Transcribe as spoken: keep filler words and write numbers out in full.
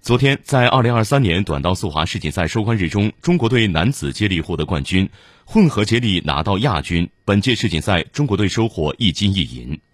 昨天，在二零二三年短道速滑世锦赛收官日中，中国队男子接力获得冠军，混合接力拿到亚军。本届世锦赛，中国队收获一金一银。